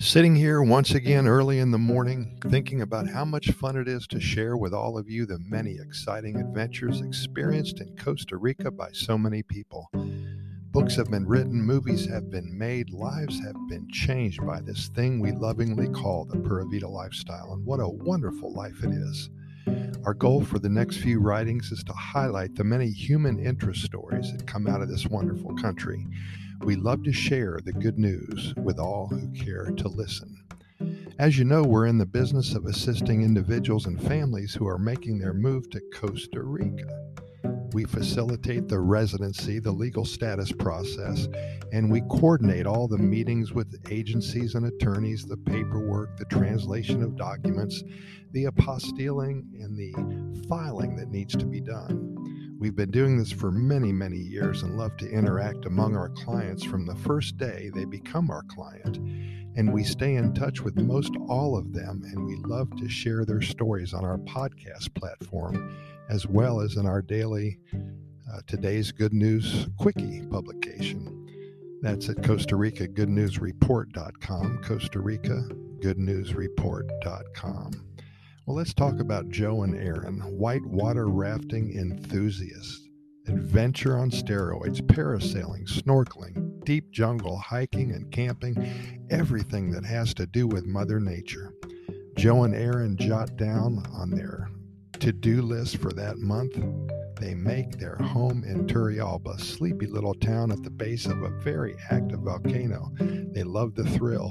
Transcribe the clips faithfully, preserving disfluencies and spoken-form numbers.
Sitting here once again early in the morning, thinking about how much fun it is to share with all of you the many exciting adventures experienced in Costa Rica by so many people. Books have been written, movies have been made, lives have been changed by this thing we lovingly call the Pura Vida lifestyle, and what a wonderful life it is. Our goal for the next few writings is to highlight the many human interest stories that come out of this wonderful country. We love to share the good news with all who care to listen. As you know, we're in the business of assisting individuals and families who are making their move to Costa Rica. We facilitate the residency, the legal status process, and we coordinate all the meetings with agencies and attorneys, the paperwork, the translation of documents, the apostilling, and the filing that needs to be done. We've been doing this for many, many years and love to interact among our clients from the first day they become our client. And we stay in touch with most all of them, and we love to share their stories on our podcast platform, as well as in our daily uh, Today's Good News Quickie publication. That's at Costa Rica Good News Report dot com, Costa Rica Good News Report dot com. Well, let's talk about Joe and Aaron, whitewater rafting enthusiasts, adventure on steroids, parasailing, snorkeling, deep jungle hiking and camping, everything that has to do with Mother Nature. Joe and Aaron jot down on their to-do list for that month. They make their home in Turrialba, sleepy little town at the base of a very active volcano. They love the thrill.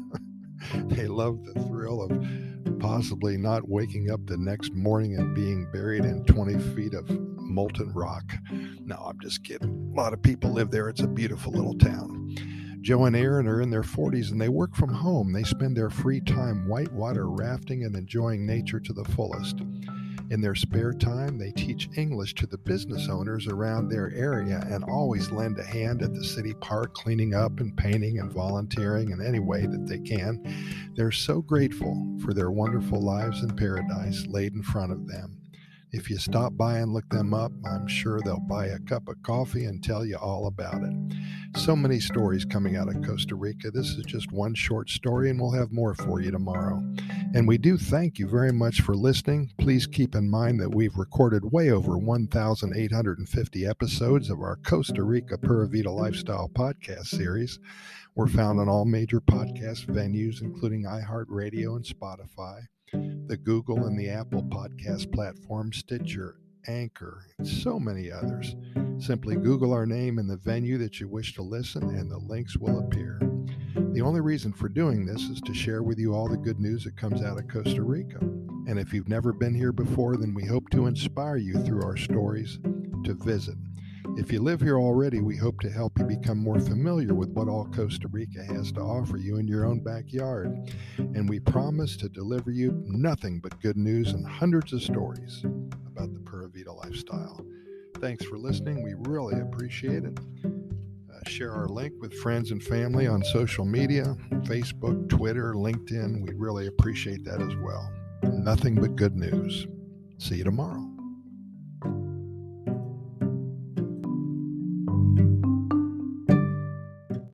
They love the thrill of possibly not waking up the next morning and being buried in twenty feet of molten rock. No, I'm just kidding. A lot of people live there. It's a beautiful little town. Joe and Aaron are in their forties and they work from home. They spend their free time whitewater rafting and enjoying nature to the fullest. In their spare time, they teach English to the business owners around their area and always lend a hand at the city park, cleaning up and painting and volunteering in any way that they can. They're so grateful for their wonderful lives in paradise laid in front of them. If you stop by and look them up, I'm sure they'll buy a cup of coffee and tell you all about it. So many stories coming out of Costa Rica. This is just one short story, and we'll have more for you tomorrow. And we do thank you very much for listening. Please keep in mind that we've recorded way over one thousand eight hundred fifty episodes of our Costa Rica Pura Vida Lifestyle podcast series. We're found on all major podcast venues, including iHeartRadio and Spotify, the Google and the Apple podcast platform, Stitcher, Anchor, and so many others. Simply Google our name and the venue that you wish to listen, and the links will appear. The only reason for doing this is to share with you all the good news that comes out of Costa Rica. And if you've never been here before, then we hope to inspire you through our stories to visit. If you live here already, we hope to help you become more familiar with what all Costa Rica has to offer you in your own backyard. And we promise to deliver you nothing but good news and hundreds of stories about the Pura Vida lifestyle. Thanks for listening. We really appreciate it. Uh, share our link with friends and family on social media, Facebook, Twitter, LinkedIn. We really appreciate that as well. Nothing but good news. See you tomorrow.